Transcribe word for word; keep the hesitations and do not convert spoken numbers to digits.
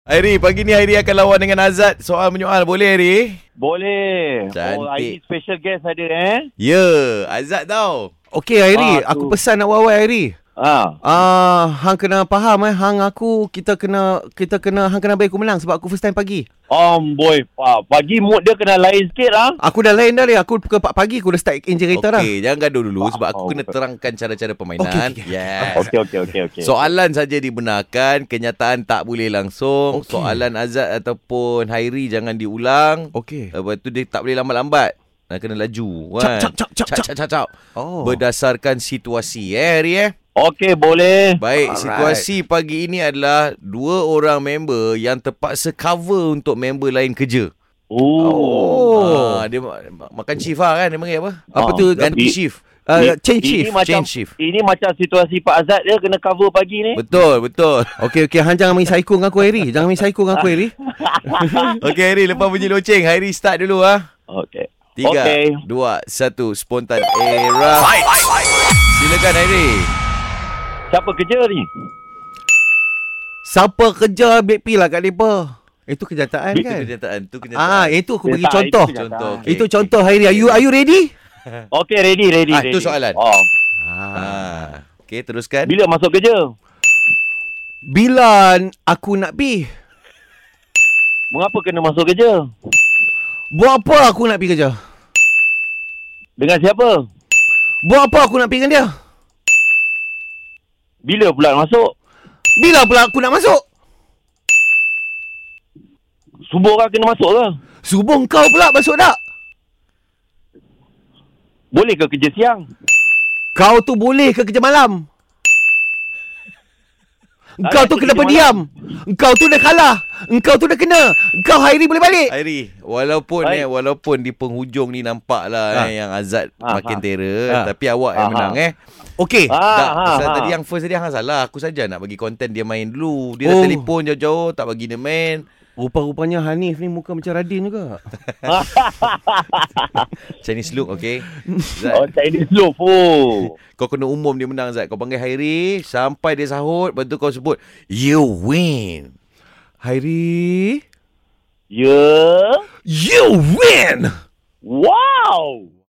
Hairi, pagi ni Hairi akan lawan dengan Azad. Soal menyoal, boleh Hairi? Boleh. Cantik. Oh, hari ni special guest ada eh. Ya, yeah, Azad tau. Okey Hairi, Ah, aku tu. pesan nak wawai Hairi. Ha. Ah, hang kena faham eh, hang aku kita kena kita kena hang kena bagi aku menang sebab aku first time pagi. Om boy, pa, pagi mood dia kena lain sikit lah. Aku dah lain dah ni. Aku ke pagi aku dah start engine kereta dah. Okey, jangan gaduh dulu sebab aku Oh, kena betul. terangkan cara-cara permainan. Okey, okey, okey. Yes. Okey okey okey okey. Soalan saja dibenarkan, kenyataan tak boleh langsung. Okey. Soalan Azad ataupun Hairi jangan diulang. Okey. Lepas tu dia tak boleh lambat-lambat. Nak kena laju kan. Cap, cap, cap, cap, cap, cap, cap. Oh. Berdasarkan situasi eh Hairi eh. Okey boleh. Baik, Alright. situasi pagi ini adalah dua orang member yang terpaksa cover untuk member lain kerja. Oh. Oh. Ah, dia ma- ma- makan shift lah kan, dia panggil apa? Apa Ah, tu? Ganti I- shift. Uh, change Ini shift. macam change shift. ini macam situasi Pak Azad dia kena cover pagi ni. Betul, betul. Okey okey, hang jangan main psycho dengan aku Hairi. Jangan main psycho dengan aku Hairi. Okey Hairi, lepas bunyi loceng, Hairi start dulu ah. Okey. Tiga, Okey. dua, satu, spontan era. Silakan Hairi. Siapa kerja ni? Siapa kerja B P lah kat depa? Itu kenyataan Itu kan? kenyataan, tu Ah, kenyataan. itu aku bagi Tak, contoh. itu Contoh. kenyataan. okey, Itu okey. contoh Hairi. Are you are you ready? Okey ready ready Ah, ready. itu soalan. Oh. Ah. Ah, okey, teruskan. Bila masuk kerja? Bila aku nak pi? Mengapa kena masuk kerja? Buat apa aku nak pergi kerja? Dengan siapa? Buat apa aku nak pergi dengan dia? Bila pula masuk? Bila pula aku nak masuk? Subuh kan kena masuk ke? Subuh kau pula masuk tak? Boleh ke kerja siang? Kau tu boleh ke kerja malam? Engkau Ah, tu kerja kena malam. berdiam. Engkau tu dah kalah. Engkau tu dah kena. Engkau Hairi boleh balik. Hairi, walaupun Baik. eh walaupun di penghujung ni nampaklah Ha. eh, yang Azad Ha, makin ha. terror, Ha. tapi awak yang Ha, menang ha. eh. Okey. Ah, Tak, ha, pasal ha. tadi yang first tadi hang salah. Aku saja nak bagi konten dia main dulu. Dia dah Oh. telefon jauh-jauh tak bagi dia main. Rupa-rupanya Hanif ni muka macam Radin juga. Chinese look, okay? Oh, Zat, Chinese loaf. Oh. kau kena umum dia menang Zat. Kau panggil Hairi sampai dia sahut, lepas tu kau sebut you win. Hairi, Ya. you win. Wow.